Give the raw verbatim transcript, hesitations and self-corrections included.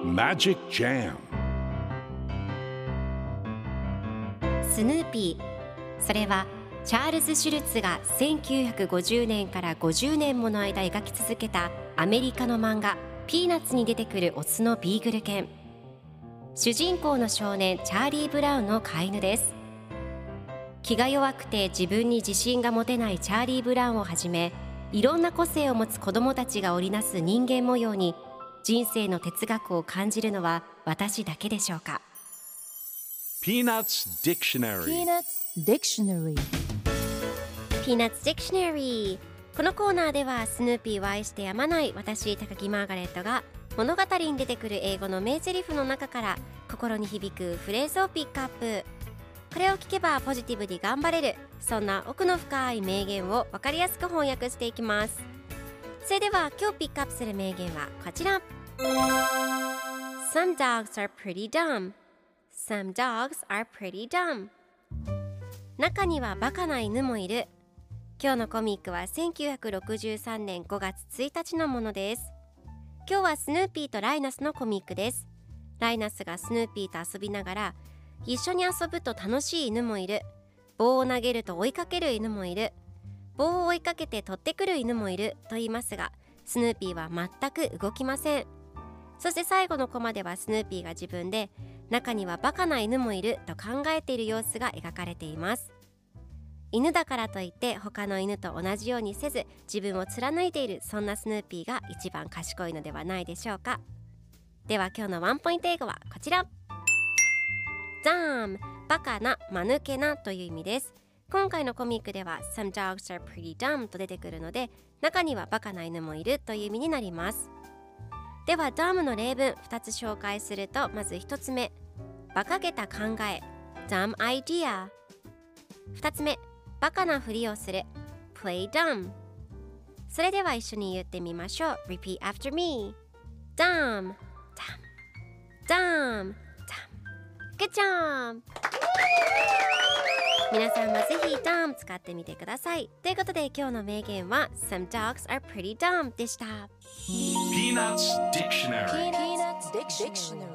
Magic Jam スヌーピー、それはチャールズ・シュルツがせんきゅうひゃくごじゅうねんからごじゅうねんもの間描き続けたアメリカの漫画ピーナッツに出てくるオスのビーグル犬。主人公の少年チャーリー・ブラウンの飼い犬です。気が弱くて自分に自信が持てないチャーリー・ブラウンをはじめ、いろんな個性を持つ子どもたちが織りなす人間模様に人生の哲学を感じるのは私だけでしょうか。 Peanuts Dictionary Peanuts Dictionary Peanuts Dictionary。 このコーナーではスヌーピーを愛してやまない私高木マーガレットが物語に出てくる英語の名台詞の中から心に響くフレーズをピックアップ。これを聞けばポジティブに頑張れる、そんな奥の深い名言を分かりやすく翻訳していきます。それでは今日ピックアップする名言はこちら。 Some dogs are pretty dumb. Some dogs are pretty dumb. 中にはバカな犬もいる。今日のコミックはせんきゅうひゃくろくじゅうさんねんごがつついたちのものです。今日はスヌーピーとライナスのコミックです。ライナスがスヌーピーと遊びながら、一緒に遊ぶと楽しい犬もいる、棒を投げると追いかける犬もいる、棒を追いかけて取ってくる犬もいると言いますが、スヌーピーは全く動きません。そして最後のコマではスヌーピーが自分で中にはバカな犬もいると考えている様子が描かれています。犬だからといって他の犬と同じようにせず自分を貫いている、そんなスヌーピーが一番賢いのではないでしょうか。では今日のワンポイント英語はこちら。Dumb、バカな、間抜けなという意味です。今回のコミックでは Some dogs are pretty dumb と出てくるので、中にはバカな犬もいるという意味になります。では dumb の例文ふたつ紹介すると、まずひとつめ、馬鹿げた考え dumb idea。 ふたつめ、バカなふりをする play dumb。 それでは一緒に言ってみましょう。 Repeat after me. Dumb dumb dumb Good job! 皆さんもぜひ dumb 使ってみてください。ということで今日の名言は Some dogs are pretty dumb でした。 Peanuts Dictionary Peanuts Dictionary